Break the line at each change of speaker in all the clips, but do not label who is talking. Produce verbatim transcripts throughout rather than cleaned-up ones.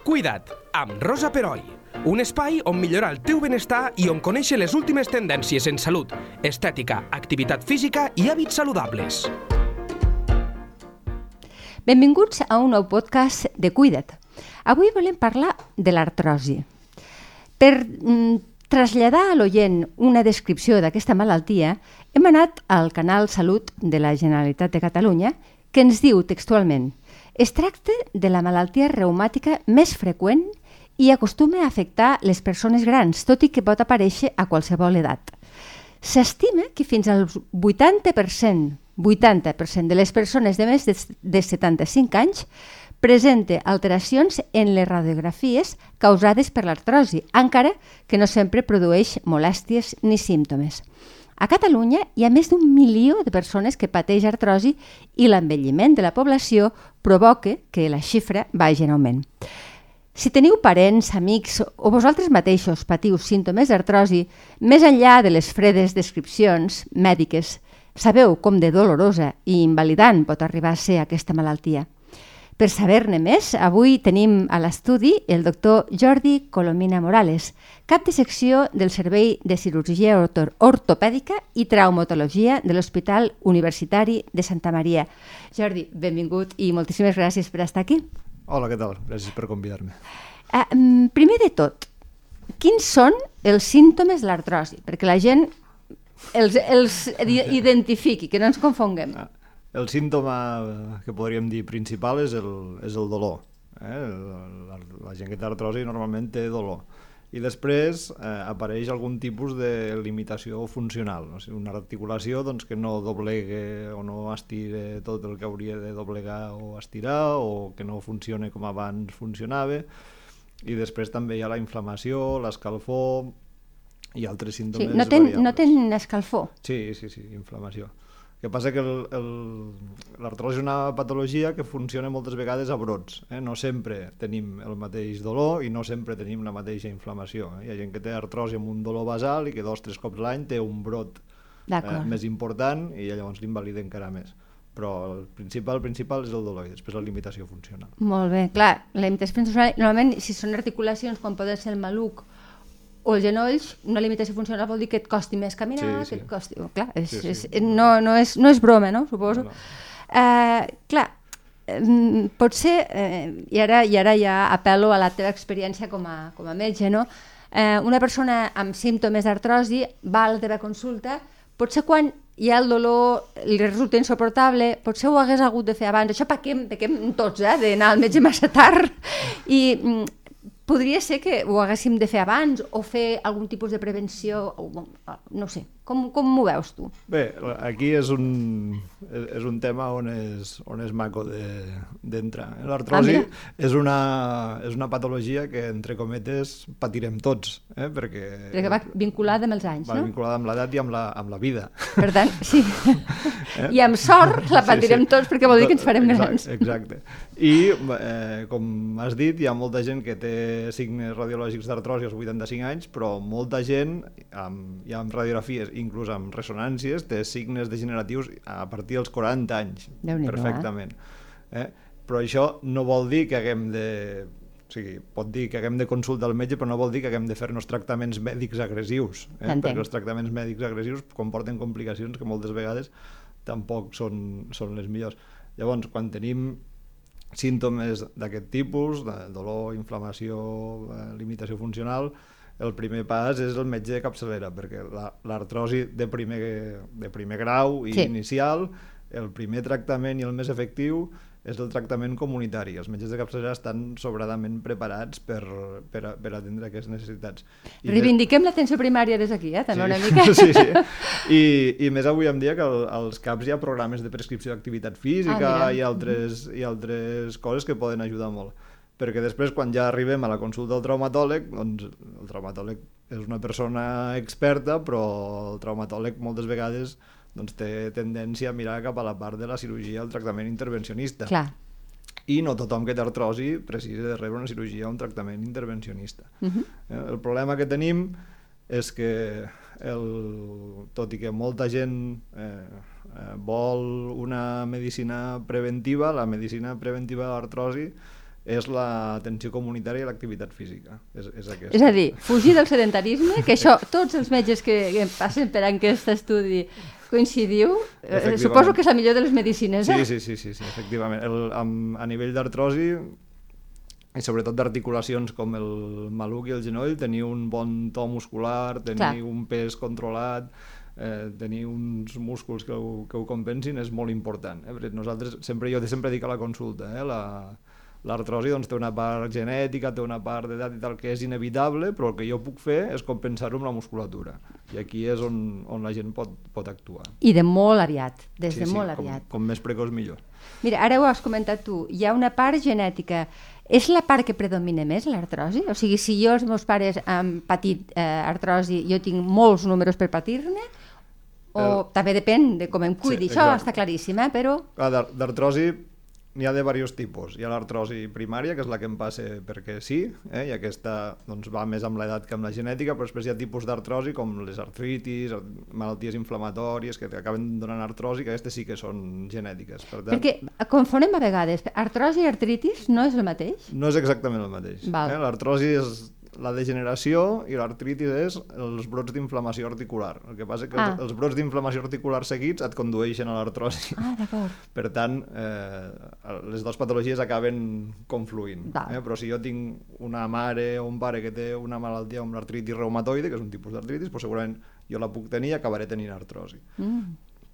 Cuida't, amb Rosa Peroi. Un espai on millorar el teu benestar i on conèixer les últimes tendències en salut, estètica, activitat física i hàbits saludables.
Benvinguts a un nou podcast de Cuida't. Avui volem parlar de l'artrosi. Per mm, traslladar a l'oient una descripció d'aquesta malaltia, hem anat al canal Salut de la Generalitat de Catalunya, que ens diu textualment: es tracta de la malaltia reumàtica més freqüent i acostuma a afectar les persones grans, tot i que pot aparèixer a qualsevol edat. S'estima que fins al vuitanta per cent, vuitanta per cent de les persones de més de setanta-cinc anys presenta alteracions en les radiografies causades per l'artrosi, encara que no sempre produeix molèsties ni símptomes. A Catalunya hi ha més d'un milió de persones que pateix artrosi i l'envelliment de la població provoca que la xifra vagi en augment. Si teniu parents, amics o vosaltres mateixos patiu símptomes d'artrosi, més enllà de les fredes descripcions mèdiques, sabeu com de dolorosa i invalidant pot arribar a ser aquesta malaltia. Per saber-ne més, avui tenim a l'estudi el doctor Jordi Colomina Morales, cap de secció del Servei de Cirurgia Ortopèdica i Traumatologia de l'Hospital Universitari de Santa Maria. Jordi, benvingut i moltíssimes gràcies per estar aquí.
Hola, què tal? Gràcies per convidar-me.
Uh, primer de tot, quins són els símptomes de l'artrosi? Perquè la gent els, els identifiqui, que no ens confonguem.
Ah. El símptoma que podríem dir principal és el, és el dolor. Eh? La, la gent que té artrosi normalment té dolor. I després eh, apareix algun tipus de limitació funcional. O sigui, una articulació doncs, que no doblegue o no estire tot el que hauria de doblegar o estirar, o que no funcione com abans funcionava. I després també hi ha la inflamació, l'escalfor i altres símptomes
sí, no ten,
variables.
No tenen escalfor?
Sí, sí, sí, inflamació. El que passa que l'artrosi és una patologia que funciona moltes vegades a brots. Eh? No sempre tenim el mateix dolor i no sempre tenim la mateixa inflamació. Eh? Hi ha gent que té artrosi amb un dolor basal i que dos o tres cops l'any té un brot eh, més important i llavors l'invalida encara més. Però el principal, el principal és el dolor i després la limitació funcional.
Molt bé, clar, la limitació funcional, normalment si són articulacions com poden ser el maluc o els genolls, una limitació funcional vol dir que et costi més caminar, sí, sí. que et costi... Oh, clar, és, sí, sí. És, no, no, és, no és broma, no? Suposo. No, no. Uh, clar, um, potser, uh, i, ara, i ara ja apel·lo a la teva experiència com a, com a metge, no? Uh, una persona amb símptomes d'artrosi va a la teva consulta, potser quan hi ha el dolor, li resulta insuportable, potser ho hagués hagut de fer abans. Això pequem, pequem tots, eh, d'anar al metge massa tard. I... Um, podria ser que ho haguéssim de fer abans o fer algun tipus de prevenció, no sé, com, com m'ho veus tu?
Bé, aquí és un, és un tema on és, on és maco d'entrar. De, L'artrosi ah, és, una, és una patologia que, entre cometes, patirem tots, eh? perquè...
Perquè va vinculada amb els anys,
va
no?
Va vinculada amb l'edat i amb la, amb la vida.
Per tant, sí. Eh? I amb sort la patirem sí, sí. tots perquè vol dir que ens farem grans.
Exacte. I, eh, com has dit, hi ha molta gent que té signes radiològics d'artrosi als vuitanta-cinc anys, però molta gent, amb, ja amb radiografies, inclús amb ressonàncies, té signes degeneratius a partir dels quaranta anys, perfectament. Eh? Però això no vol dir que haguem de... O sigui, pot dir que haguem de consultar al metge, però no vol dir que haguem de fer-nos tractaments mèdics agressius, eh? perquè els tractaments mèdics agressius comporten complicacions que moltes vegades tampoc són, són les millors. Llavors, quan tenim símptomes d'aquest tipus, de dolor, inflamació, limitació funcional, el primer pas és el metge de capçalera, perquè l'artrosi de, primer, de primer grau i sí. inicial, el primer tractament i el més efectiu és el tractament comunitari. Els metges de capçalera estan sobradament preparats per, per, per atendre aquestes necessitats. I
Reivindiquem més... l'atenció primària des d'aquí, eh? també sí. una mica.
sí, sí. I, I més avui en dia que el, als CAPs hi ha programes de prescripció d'activitat física ah, i, altres, i altres coses que poden ajudar molt. Perquè després, quan ja arribem a la consulta del traumatòleg, doncs el traumatòleg és una persona experta, però el traumatòleg moltes vegades doncs, té tendència a mirar cap a la part de la cirurgia, el tractament intervencionista.
Clar.
I no tothom que té artrosi precisa de rebre una cirurgia o un tractament intervencionista. Uh-huh. El problema que tenim és que, el, tot i que molta gent eh, eh, vol una medicina preventiva, la medicina preventiva de l'artrosi és l'atenció comunitària i l'activitat física. És, és,
és a dir, fugir del sedentarisme, que això tots els metges que, que passen per aquest estudi coincidiu, eh, suposo que és la millor de les medicines, eh?
Sí, sí, sí, sí, sí efectivament. El, a, a nivell d'artrosi, i sobretot d'articulacions com el maluc i el genoll, tenir un bon to muscular, tenir Clar. un pes controlat, eh, tenir uns músculs que ho, que ho compensin és molt important. Eh? Nosaltres, sempre, jo sempre dic a la consulta, eh? la, l'artrosi doncs, té una part genètica, té una part d'edat i tal que és inevitable, però el que jo puc fer és compensar-ho amb la musculatura. I aquí és on, on la gent pot, pot actuar.
I de molt aviat, des
sí,
de
sí,
molt
com,
aviat.
Com més precoç millor.
Mira, ara ho has comentat tu, hi ha una part genètica. És la part que predomina més, l'artrosi? O sigui, si jo els meus pares han patit eh, artrosi, jo tinc molts números per patir-ne? O el... també depèn de com em cuidi, sí, això exacte. Està claríssim, eh? Però...
D'artrosi n'hi ha de diversos tipus. Hi ha l'artrosi primària, que és la que em passa perquè sí, eh? I aquesta doncs, va més amb l'edat que amb la genètica, però després hi ha tipus d'artrosi com les artritis, malalties inflamatòries que acaben donant artrosi, que aquestes sí que són genètiques. Per tant,
perquè confonem a vegades, artrosi i artritis no és el mateix?
No és exactament el mateix. Eh? L'artrosi és la degeneració i l'artritis és els brots d'inflamació articular. El que passa és que ah. els, els brots d'inflamació articular seguits et condueixen a l'artrosi.
Ah, d'acord.
Per tant, eh, les dues patologies acaben confluint. Eh? Però si jo tinc una mare o un pare que té una malaltia com l'artritis reumatoide, que és un tipus d'artritis, doncs segurament jo la puc tenir i acabaré tenint artrosi.
Mm.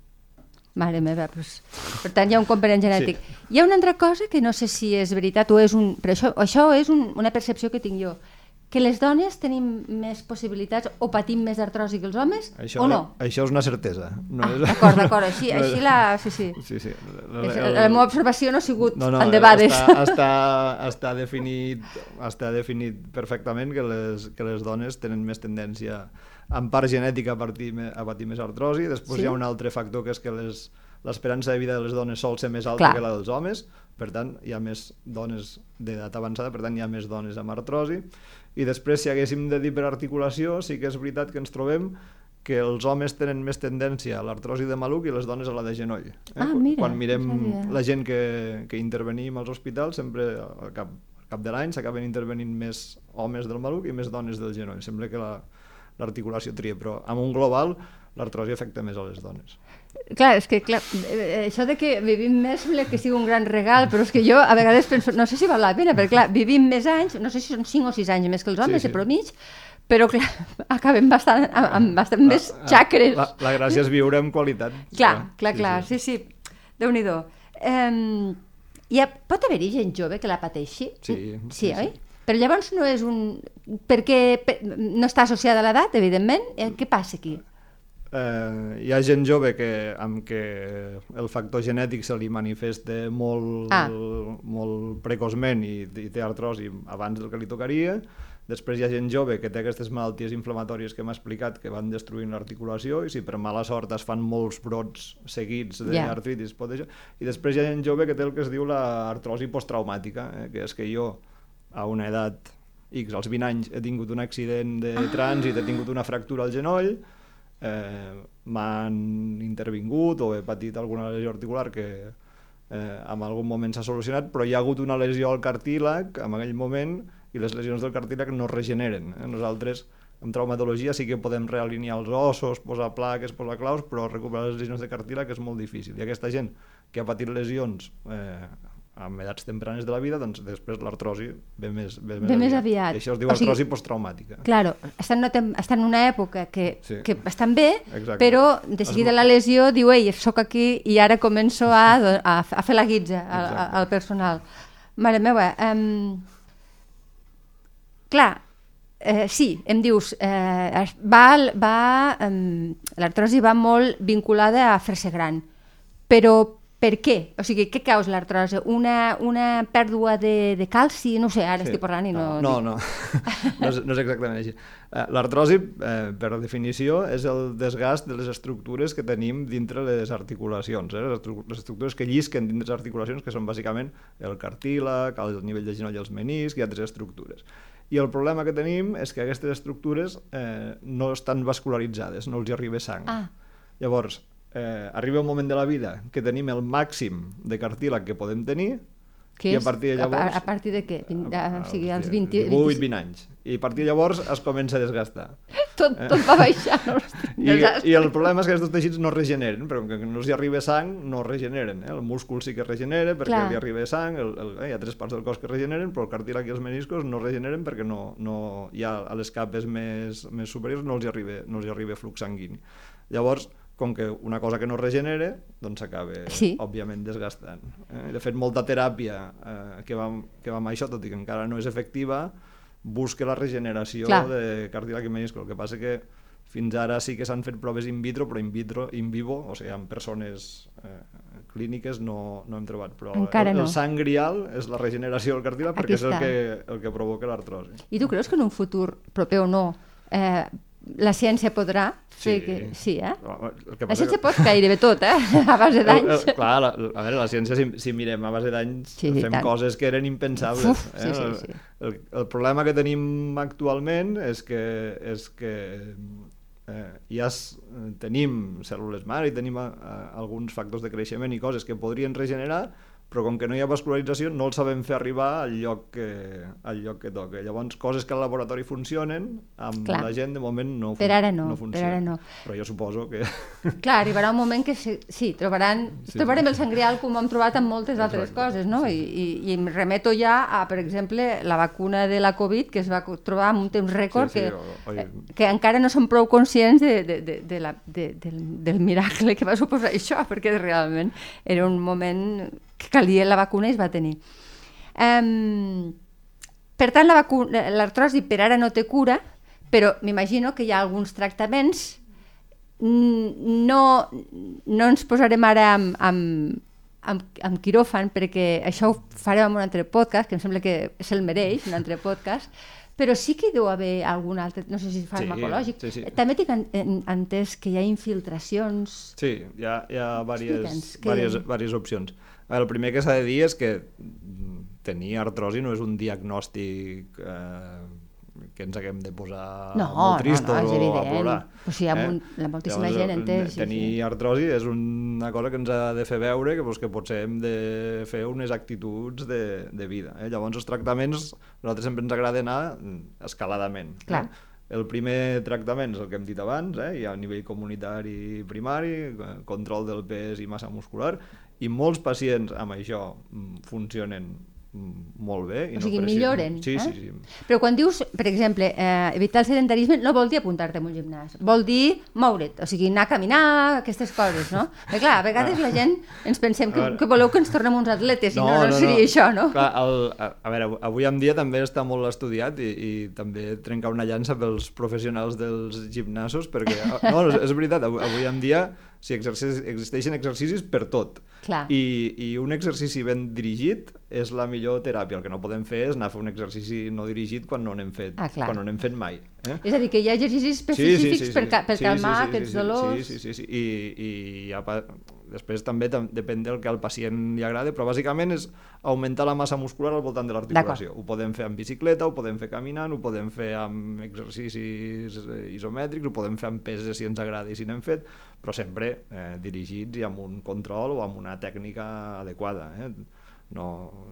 Mare meva, doncs, per tant hi ha un component genètic. Sí. Hi ha una altra cosa que no sé si és veritat o és un... Però això, això és un, una percepció que tinc jo. Que les dones tenim més possibilitats o patim més artrosi que els homes,
això,
o no?
Això és una certesa. No
ah,
és...
D'acord, d'acord, així, no així la... Sí, sí.
sí, sí.
El, el, la meva observació no ha sigut
no, no,
endebades.
Està, està, està, definit, està definit perfectament que les, que les dones tenen més tendència, en part genètica, a, partir, a patir més artrosi. Després sí? Hi ha un altre factor, que és que les, l'esperança de vida de les dones sol ser més alta Clar. Que la dels homes, per tant, hi ha més dones d'edat avançada, per tant, hi ha més dones amb artrosi. I després, si haguéssim de dir per articulació, sí que és veritat que ens trobem que els homes tenen més tendència a l'artrosi de maluc i les dones a la de genoll. Eh?
Ah, mira,
Quan mirem la gent que, que intervenim als hospitals, sempre al cap, al cap de l'any s'acaben intervenint més homes del maluc i més dones del genoll. Sembla que la, l'articulació tria, però amb un global l'artrosi afecta més a les dones.
Clar, és que clar, això de que vivim més sembla que sigui un gran regal, però és que jo a vegades penso, no sé si val la pena, perquè clar, vivim més anys, no sé si són cinc o sis anys més que els homes, sí, sí. De promig, però clar, acabem bastant, amb bastant la, més xacres.
La, la gràcia és viure amb qualitat.
Clar, clar, clar, sí, sí, sí. Déu-n'hi-do. Um, ha, pot haver-hi gent jove que la pateixi?
Sí.
Sí, sí, oi? Sí. Però llavors no és un... Perquè per... no està associada a l'edat, evidentment. Què passa aquí?
Eh, hi ha gent jove que, amb què el factor genètic se li manifesta molt, ah. molt precoçment i, i té artrosi abans del que li tocaria. Després hi ha gent jove que té aquestes malalties inflamatòries que m'ha explicat que van destruint l'articulació i si per mala sort es fan molts brots seguits d'artritis yeah. pot deixar. I després hi ha gent jove que té el que es diu l'artrosi posttraumàtica, eh, que és que jo a una edat X, als vint anys, he tingut un accident de ah. trànsit, he tingut una fractura al genoll, eh, m'han intervingut o he patit alguna lesió articular que eh, en algun moment s'ha solucionat, però hi ha hagut una lesió al cartílag en aquell moment i les lesions del cartílag no es regeneren. Eh? Nosaltres, en traumatologia, sí que podem realinear els ossos, posar plaques, posar claus, però recuperar les lesions de cartílag és molt difícil. I aquesta gent que ha patit lesions eh, amb edats tempranes de la vida, doncs després l'artrosi ve més, ve més,
ve més
aviat.
aviat.
I això es diu o artrosi sigui, posttraumàtica.
Claro, estan, no tem, estan en una època que, sí. que estan bé, Exacte. Però de seguida es... la lesió diu, ei, soc aquí i ara començo a, a, a fer la guitza al, al personal. Mare meva, um, clar, eh, sí, em dius, eh, va, va, um, l'artrosi va molt vinculada a fer-se gran, però per què? O sigui, què causa l'artrosi? Una, una pèrdua de, de calci? No sé, ara sí. Estic parlant i no...
No, no, no. no, és, no és exactament així. L'artrosi, eh, per definició, és el desgast de les estructures que tenim dintre les articulacions. Eh? Les estructures que llisquen dintre les articulacions, que són bàsicament el cartílag, el nivell de genoll i els meniscs i altres estructures. I el problema que tenim és que aquestes estructures eh, no estan vascularitzades, no els hi arriba sang.
Ah.
Llavors, Eh, arriba un moment de la vida que tenim el màxim de cartílag que podem tenir
Que
I
és,
a partir de llavors...
A, a partir de què? Vint, a, o sigui, als vint...
divuit vint anys. I a partir de llavors es comença a desgastar.
Tot, tot va baixar. No?
I, I el problema és que aquests teixits no regeneren, però que no els hi arriba sang, no regeneren. Eh? El múscul sí que regenera perquè
Clar.
li arriba sang, el, el, eh, hi ha tres parts del cos que regeneren, però el cartílag i els meniscos no regeneren perquè no, no, ja a les capes més, més superiors no els hi arriba, no els hi arriba flux sanguini. Llavors, com que una cosa que no regenera, doncs s'acaba,
sí.
òbviament, desgastant. Eh? De fet, molta teràpia eh, que, va, que va amb això, tot i que encara no és efectiva, busca la regeneració Clar. de cartílag i menisco. El que passa que fins ara sí que s'han fet proves in vitro, però in vitro, in vivo, o sigui, en persones eh, clíniques no, no hem trobat. Però
encara
el,
no.
el sang grial és la regeneració del cartílag perquè és el que, el que provoca l'artrosi.
I tu creus que en un futur proper o no eh, la ciència podrà fer
sí.
que... Sí, eh?
El que
la ciència
que...
pot gairebé tot, eh? A base d'anys.
Clar, la, a veure, la ciència, si, si mirem a base d'anys, sí, fem tant. coses que eren impensables.
Uf,
eh?
sí, sí, sí.
El, el, el problema que tenim actualment és que, és que eh, ja es, tenim cèl·lules mare i tenim a, a, alguns factors de creixement i coses que podrien regenerar, però com que no hi ha vascularització no el sabem fer arribar al lloc que, al lloc que toca. Llavors, coses que al laboratori funcionen, amb Clar. la gent de moment no,
per ara no,
no funcionen.
Per ara no.
Però jo suposo que...
Clar, arribarà un moment que sí, sí trobaran, sí, trobarem sí. el sang grial com hem trobat amb moltes
Exacte.
altres coses, no?
Sí.
I, i, I em remeto ja a, per exemple, la vacuna de la Covid, que es va trobar en un temps rècord, sí, sí, que, oi... que encara no som prou conscients de, de, de, de la, de, del, del miracle que va suposar això, perquè realment era un moment que calia la vacuna i es va tenir. Um, per tant, l'artrosi per ara no té cura, però m'imagino que hi ha alguns tractaments. No, no ens posarem ara amb, amb, amb, amb quiròfan, perquè això ho farem en un altre podcast, que em sembla que se'l mereix, un altre podcast, però sí que hi deu haver algun altre, no sé si farmacològic. Sí, sí, sí. També tinc entès que hi ha infiltracions...
Sí, hi ha, hi ha diverses,
que...
diverses, diverses opcions. El primer que s'ha de dir és que tenir artrosi no és un diagnòstic eh, que ens haguem de posar
no,
molt tristos
no, no, és
o a plorar.
O sigui, hi ha eh? la moltíssima
Llavors,
gent entès.
Tenir sí, sí. artrosi és una cosa que ens ha de fer veure que, doncs, que potser hem de fer unes actituds de, de vida. Eh? Llavors, els tractaments, a nosaltres sempre ens agrada anar escaladament.
Clar.
Eh? El primer tractament és el que hem dit abans, eh? Hi ha a nivell comunitari primari, control del pes i massa muscular, i molts pacients amb això funcionen molt bé. I
o sigui,
no
milloren.
Sí,
eh?
sí, sí.
Però quan dius, per exemple, eh, evitar el sedentarisme no vol dir apuntar-te en un gimnàs, vol dir moure't, o sigui, anar a caminar, aquestes coses, no? Perquè clar, a vegades la gent ens pensem que, que voleu que ens tornem uns atletes i no, no, no, no seria no. això, no?
Clar, el, a, a veure, avui en dia també està molt estudiat i, i també trencar una llança pels professionals dels gimnasos, perquè, no, és veritat, avui, avui en dia si exercicis, existeixen exercicis per tot.
Clar.
I, i un exercici ben dirigit és la millor teràpia. El que no podem fer és anar a fer un exercici no dirigit quan no n'hem fet,
ah,
quan no n'hem fet mai. Eh?
És a dir, que hi ha exercicis específics sí, sí, sí, sí. per, ca per
sí,
calmar
sí, sí,
aquests
sí, sí,
dolors.
Sí, sí, sí, sí. I, i ja pa... després també depèn del que al pacient li agrada, però bàsicament és augmentar la massa muscular al voltant de l'articulació. Ho podem fer amb bicicleta, ho podem fer caminant, ho podem fer amb exercicis isomètrics, ho podem fer amb peses si ens agrada i si n'hem fet, però sempre eh, dirigits i amb un control o amb una tècnica adequada. Eh? No,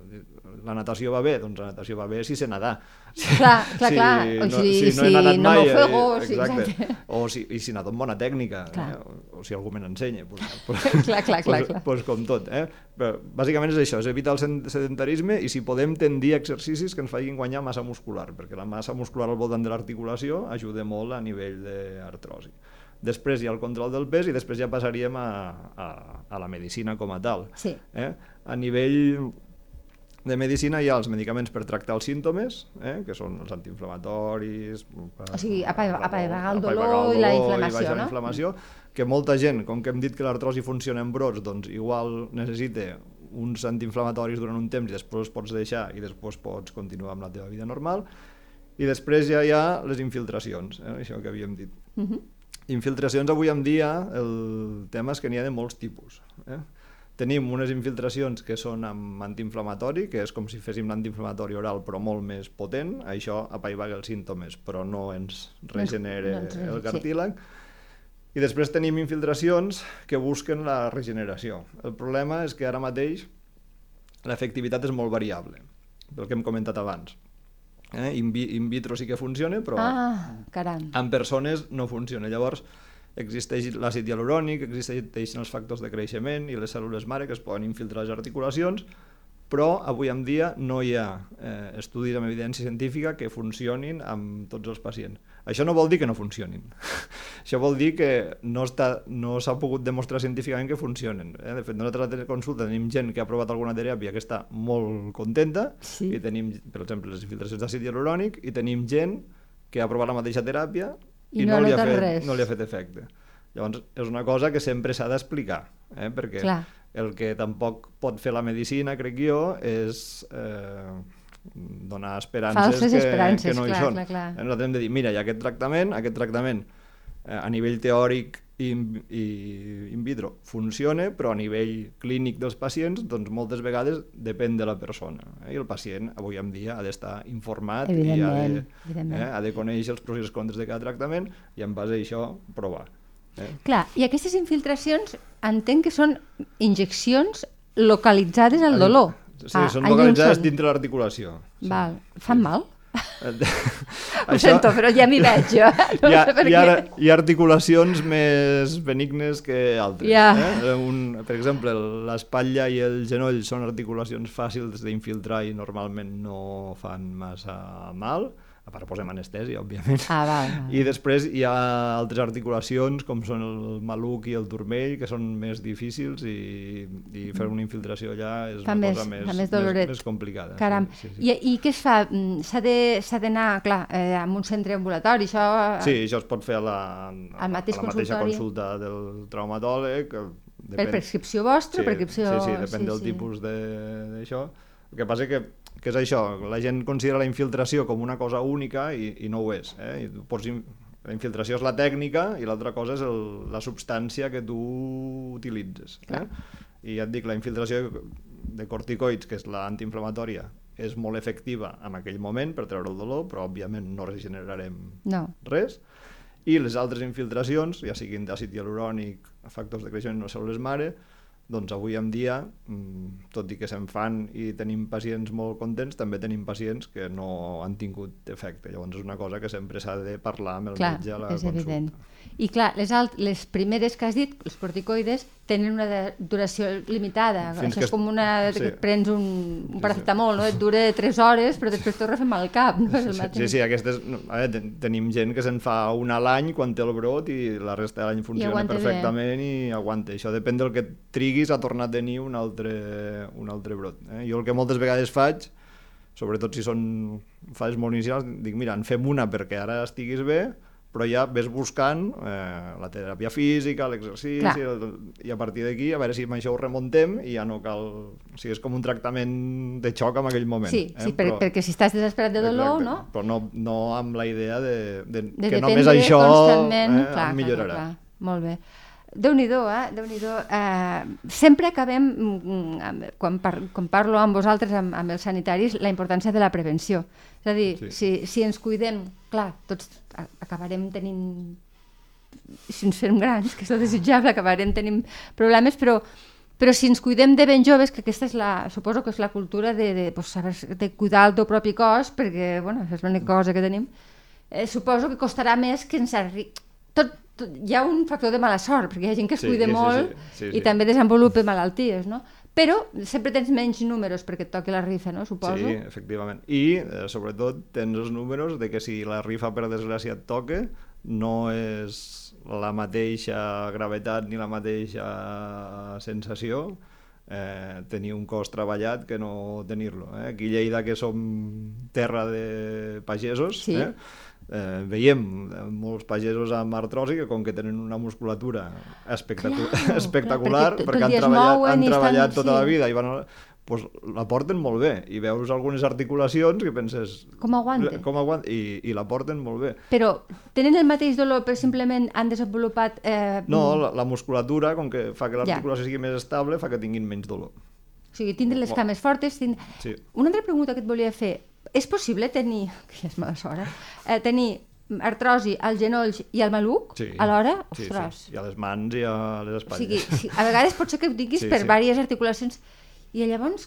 la natació va bé, doncs la natació va bé si sé nedar.
Clar, clar, si, clar. O
no,
si,
si no he
si
nedat
no
mai,
m'ofego,
eh,
sí,
exacte. O si, i si nado amb bona tècnica, eh? O, o si algú me n'ensenya. Pues, pues,
clar, clar, clar,
pues,
clar.
Pues com tot. Eh? Però, bàsicament és això, és evitar el sedentarisme i si podem tendir exercicis que ens facin guanyar massa muscular, perquè la massa muscular al voltant de l'articulació ajuda molt a nivell d'artrosi. Després hi ha el control del pes i després ja passaríem a, a, a la medicina com a tal.
Sí.
Eh? A nivell de medicina hi ha els medicaments per tractar els símptomes, eh? que són els antiinflamatoris...
O sigui, apaivagar el dolor i la inflamació, no?
La inflamació, que molta gent, com que hem dit que l'artrosi funciona en brots, doncs igual necessita uns antiinflamatoris durant un temps i després els pots deixar i després pots continuar amb la teva vida normal. I després ja hi ha les infiltracions, eh? Això que havíem dit. Uh -huh. Infiltracions avui en dia, el tema és que n'hi ha de molts tipus. Eh? Tenim unes infiltracions que són amb antiinflamatori, que és com si féssim l'antiinflamatori oral però molt més potent, això apaivaga els símptomes però no ens regenera no, no, el cartílag. Sí. I després tenim infiltracions que busquen la regeneració. El problema és que ara mateix l'efectivitat és molt variable, pel que hem comentat abans. Eh? In, vi, in vitro sí que funciona, però
ah, caram.
en persones no funciona. Llavors, existeix l'àcid hialurònic, existeixen els factors de creixement i les cèl·lules mare que es poden infiltrar a les articulacions, però avui en dia no hi ha eh, estudis amb evidència científica que funcionin amb tots els pacients. Això no vol dir que no funcionin. Això vol dir que no està, no s'ha pogut demostrar científicament que funcionen. Eh? De fet, nosaltres a la consulta tenim gent que ha provat alguna teràpia que està molt contenta, sí. I tenim, per exemple, les infiltracions d'àcid hialurònic, i tenim gent que ha provat la mateixa teràpia i, i no, no, li ha fet, no li ha fet efecte. Llavors, és una cosa que sempre s'ha d'explicar, eh? Perquè clar. El que tampoc pot fer la medicina, crec jo, és eh, donar esperances,
Falses
que,
esperances
que no
clar,
hi són.
Clar, clar.
Nosaltres hem de dir, mira, hi ha aquest tractament, aquest tractament eh, a nivell teòric i, i in vitro funciona, però a nivell clínic dels pacients, doncs moltes vegades depèn de la persona. Eh? I el pacient avui en dia ha d'estar informat i ha de, eh, ha de conèixer els pros i els contres de cada tractament i en base a això provar. Eh?
Clar, i aquestes infiltracions entenc que són injeccions localitzades al dolor.
Sí, ah, són localitzades són... dintre l'articulació.
Sí. Val. Fan sí. mal? Ho
Això...
sento, però ja m'hi veig jo. No
hi, ha,
sé per
hi, ha,
què.
hi ha articulacions més benignes que altres.
Ja.
Eh? Un, per exemple, l'espatlla i el genoll són articulacions fàcils d'infiltrar i normalment no fan massa mal. A part posem anestèsia, òbviament.
Ah, val, val.
I després hi ha altres articulacions, com són el maluc i el turmell, que són més difícils i, i fer una infiltració allà és
fa
una
més,
cosa més,
més,
més, més complicada.
Caram.
Sí, sí, sí.
I, I què es fa? S'ha d'anar, clar, eh, a un centre ambulatori? Això...
Sí, això es pot fer a la, a
mateix
a la mateixa consulta del traumatòleg. Depèn...
Per prescripció vostra?
Sí,
prescripció...
sí, sí, depèn sí, del sí. tipus d'això. El que passa que, que és això, la gent considera la infiltració com una cosa única i, i no ho és. Eh? I pots, la infiltració és la tècnica i l'altra cosa és el, la substància que tu utilitzes. Eh? I ja et dic, la infiltració de corticoids, que és l'antiinflamatòria, és molt efectiva en aquell moment per treure el dolor, però òbviament no regenerarem
no.
res. I les altres infiltracions, ja siguin d'àcid hialurònic, factors de creixement o cèl·lules mare, doncs avui en dia, tot i que se'n fan i tenim pacients molt contents, també tenim pacients que no han tingut efecte. Llavors és una cosa que sempre s'ha de parlar amb el
clar,
metge a la
és
consulta.
Evident. I clar, les, alt les primeres que has dit, els corticoides, tenen una duració limitada.
Fins
Això
que...
és com una...
Sí.
que et prens un, un paracetamol, no? Et dura tres hores, però després torna a fer mal al cap. No? És el
sí, sí, sí, aquestes... A veure, tenim gent que se'n fa una a l'any quan té el brot i la resta de l'any funciona perfectament bé. I aguanta. Això depèn del que triguis a tornar a tenir un altre, un altre brot. Eh? Jo el que moltes vegades faig, sobretot si són fases molt inicials, dic, mira, en fem una perquè ara estiguis bé, però ja ves buscant eh, la teràpia física, l'exercici, i a partir d'aquí a veure si amb això ho remontem i ja no cal... O sigui, és com un tractament de xoc en aquell moment.
Sí,
eh?
sí per, però, perquè si estàs desesperat de dolor,
exacte,
no?
Però no, no amb la idea de, de,
de
que només això eh,
clar,
em millorarà.
Clar, clar. Molt bé. Déu-n'hi-do, eh? Déu-n'hi-do. Eh, sempre acabem, quan, par quan parlo amb vosaltres, amb, amb els sanitaris, la importància de la prevenció. És a dir, sí. si, si ens cuidem, clar, tots acabarem tenint, si ens fem grans, que és el desitjable, acabarem tenint problemes, però, però si ens cuidem de ben joves, que aquesta és la, suposo que és la cultura de, de, pues, saber, de cuidar el teu propi cos, perquè, bueno, és l'única cosa que tenim, eh, suposo que costarà més que ens arribi... Tot, tot, hi ha un factor de mala sort, perquè hi ha gent que es sí, cuida sí, molt sí, sí, sí. i també desenvolupa malalties, no? Però sempre tens menys números perquè et toqui la rifa, no? Suposo.
Sí, efectivament. I, eh, sobretot, tens els números de que si la rifa, per desgràcia, et toca, no és la mateixa gravetat ni la mateixa sensació eh, tenir un cos treballat que no tenir-lo. Eh? Aquí a Lleida, que som terra de pagesos, sí. eh? Eh, veiem molts pagesos amb artrosi que com que tenen una musculatura espectacu clar, espectacular clar, perquè, perquè han treballat, han treballat estan, tota sí. la vida i van, pues, la porten molt bé i veus algunes articulacions que penses
com aguanten,
com aguanten i, i la porten molt bé.
Però tenen el mateix dolor però simplement han desenvolupat eh...
no, la, la musculatura com que fa que l'articulació ja. sigui més estable fa que tinguin menys dolor.
O sigui, tindre les cames fortes tind... sí. Una altra pregunta que et volia fer, és possible tenir, que ja és mala sort, eh, tenir artrosi als genolls i al maluc sí, alhora?
Sí, sí, i a les mans i a les espatlles.
O sigui, sí, a vegades pot ser que ho diguis sí, per sí. diverses articulacions i llavors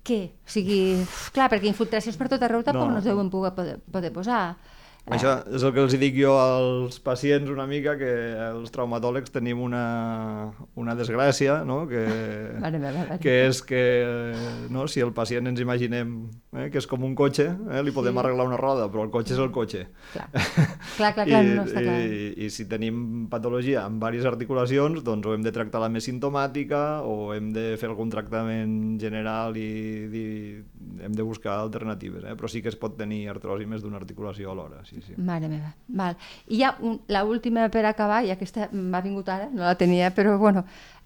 què? O sigui, clar, perquè infiltracions per tot arreu tampoc no, no es deuen poder, poder, poder posar.
Això és el que els dic jo als pacients una mica, que els traumatòlegs tenim una, una desgràcia, no? que,
vale, vale, vale.
que és que no? si el pacient ens imaginem eh, que és com un cotxe, eh? li podem sí. arreglar una roda, però el cotxe és el cotxe.
Clar, clar, clar, clar
I,
no està clar.
I, I si tenim patologia amb diverses articulacions, doncs o hem de tractar la més simptomàtica o hem de fer algun tractament general i, i hem de buscar alternatives, eh? però sí que es pot tenir artrosi més d'una articulació alhora, sí. Sí.
Mare meva. Val. I ja un, la última per acabar, i aquesta m'ha vingut ara, no la tenia, però bueno,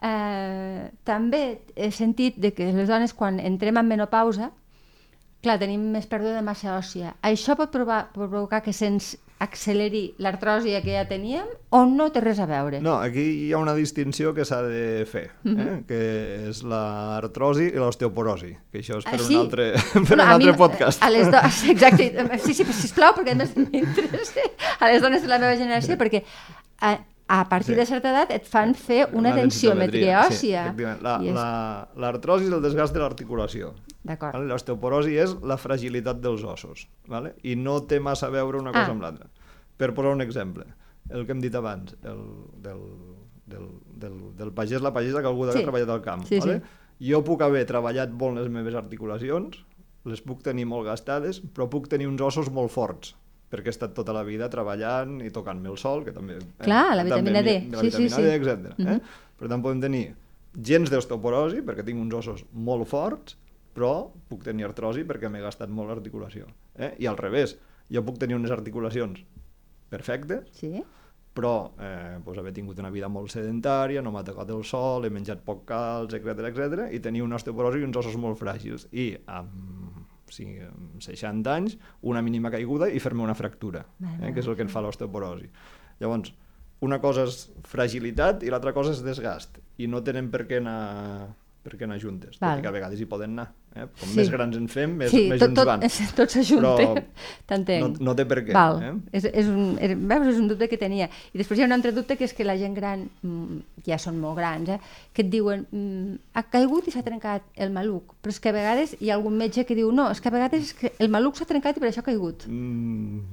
eh, també he sentit de que les dones quan entrem en menopausa, clar, tenim més pèrdua de massa òssia. Això pot provar, provocar que se'ns acceleri l'artrosi que ja teníem o no té res a veure?
No, aquí hi ha una distinció que s'ha de fer, eh? Mm-hmm. que és l'artrosi i l'osteoporosi, que això és per ah, sí? un altre, per no, un altre mi, podcast.
A les do... Exacte, sí, sí, sisplau, perquè a més m'interessa a les dones de la meva generació, perquè a, a partir sí. de certa edat et fan fer una, una densitometria òssia.
Sí, l'artrosi és... és el desgast de l'articulació.
D'acord.
Vale? L'osteoporosi és la fragilitat dels ossos, vale? I no té massa a veure una cosa ah. amb l'altra. Per posar un exemple, el que hem dit abans, el, del, del, del, del pagès, la pagesa que algú sí. ha treballat al camp.
Sí,
vale?
sí.
Jo puc haver treballat molt les meves articulacions, les puc tenir molt gastades, però puc tenir uns ossos molt forts, perquè he estat tota la vida treballant i tocant-me el sol, que també...
Clar,
eh,
la vitamina
també,
D.
La
sí,
vitamina
sí,
D,
sí.
etcètera.
Mm-hmm.
eh? Per tant, podem tenir gens d'osteoporosi, perquè tinc uns ossos molt forts, però puc tenir artrosi perquè m'he gastat molt l'articulació. Eh? I al revés, jo puc tenir unes articulacions perfectes,
sí.
però eh, doncs haver tingut una vida molt sedentària, no m'ha tocat el sol, he menjat poc calç, etcètera, etcètera, i tenir una osteoporosi i uns ossos molt fràgils. I amb, sí, amb seixanta anys, una mínima caiguda i fer-me una fractura, eh? que és el que ens fa l'osteoporosi. Llavors, una cosa és fragilitat i l'altra cosa és desgast, i no tenen per què anar... perquè anar juntes, tot i que a vegades hi poden anar. Eh? Com sí. més grans en fem, més,
sí,
més
tot,
junts van.
Sí, tot s'ajunta, t'entenc.
No, no té per què.
Val.
Eh?
És, és, un, és, veus, és un dubte que tenia. I després hi ha un altre dubte, que és que la gent gran, ja són molt grans, eh? que et diuen, ha caigut i s'ha trencat el maluc, però és que a vegades hi ha algun metge que diu, no, és que a vegades és que el maluc s'ha trencat i per això ha caigut.
Mm...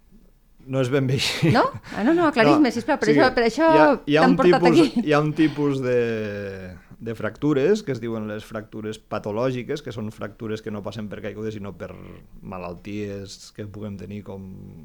No és ben bé així.
No? Ah, no, no, aclaris-me, no, sisplau, per sí, això, per això t'han portat
tipus,
aquí.
Hi ha un tipus de, de fractures que es diuen les fractures patològiques, que són fractures que no passen per caigudes, sinó per malalties que puguem tenir com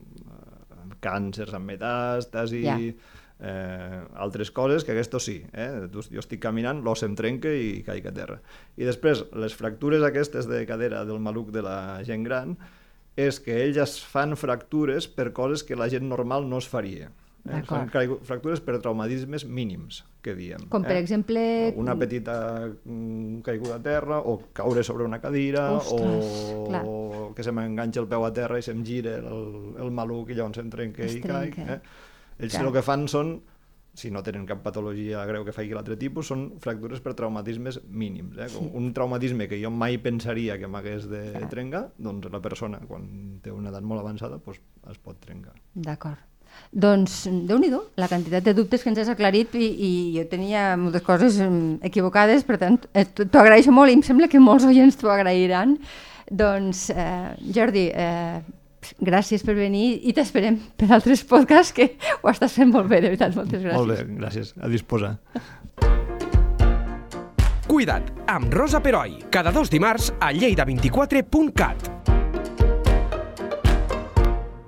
eh, càncers amb metàstasi, ja. eh, altres coses, que aquests sí. Eh? Jo estic caminant, l'os em trenca i caic a terra. I després, les fractures aquestes de cadera del maluc de la gent gran, és que ells es fan fractures per coses que la gent normal no es faria. Eh? Són fractures per traumatismes mínims, que diem.
Com per
eh?
exemple...
Una petita caiguda a terra, o caure sobre una cadira,
Ostres,
o
clar.
que se m'enganxa el peu a terra i se'm gira el, el maluc i llavors se'm trenca
es
i caic. Eh? Ells clar. El que fan són, si no tenen cap patologia greu que faci l'altre tipus, són fractures per traumatismes mínims. Eh? Sí. Un traumatisme que jo mai pensaria que m'hagués de clar. Trencar, doncs la persona, quan té una edat molt avançada, doncs es pot trencar.
D'acord. Doncs, Déu-n'hi-do, la quantitat de dubtes que ens has aclarit i, i jo tenia moltes coses equivocades, per tant, t'ho agraeixo molt i em sembla que molts oients t'ho agrairan. Doncs, eh, Jordi, eh, gràcies per venir i t'esperem per altres podcasts, que ho estàs fent molt bé, de veritat, moltes gràcies.
Molt bé, gràcies. A disposar.
Cuida't, amb Rosa Peroi, cada dos dimarts a lleida vint quatre punt cat.